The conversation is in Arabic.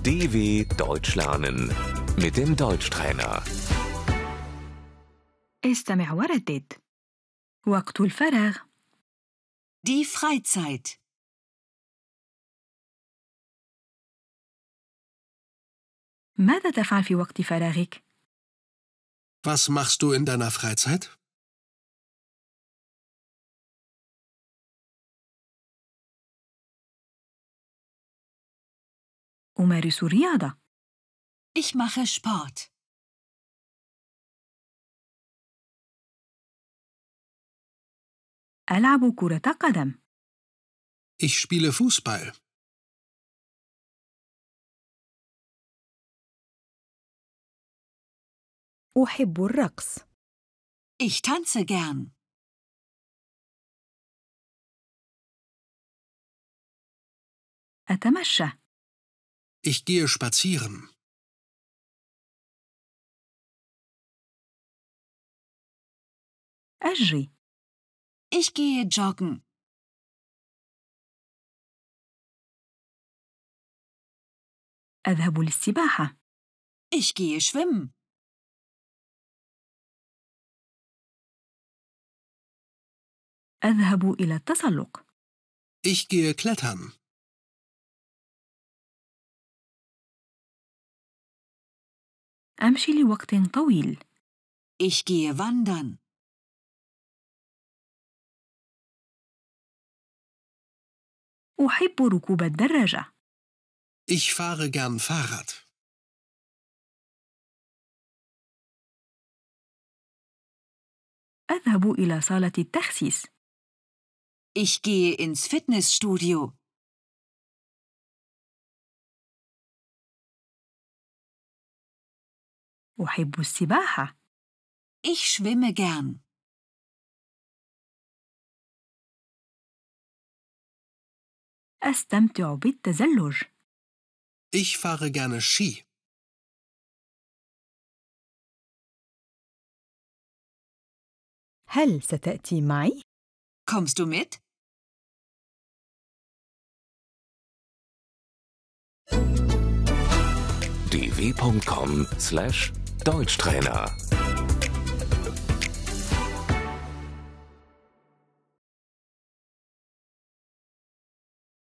DW Deutsch lernen mit dem Deutschtrainer. استمع وردد. وقت الفراغ. Die Freizeit. ماذا تفعل في وقت فراغك؟ Was machst du in deiner Freizeit? أمارس الرياضة. Ich mache Sport. ألعب كرة قدم. Ich spiele Fußball. أحب الرقص. Ich tanze gern. أتمشى. Ich gehe spazieren. أجري. Ich gehe joggen. أذهب للسباحة. Ich gehe schwimmen. أذهب إلى التسلق. Ich gehe klettern. أمشي لوقت طويل. Ich gehe wandern. أحب ركوب الدراجة. Ich fahre gern Fahrrad. أذهب إلى صالة التخسيس. Ich gehe ins Fitnessstudio. أحب السباحة. Ich schwimme gern. أستمتع بالتزلج. Ich fahre gerne Ski. هل ستأتي معي؟ Kommst du mit? dw.com/Deutschtrainer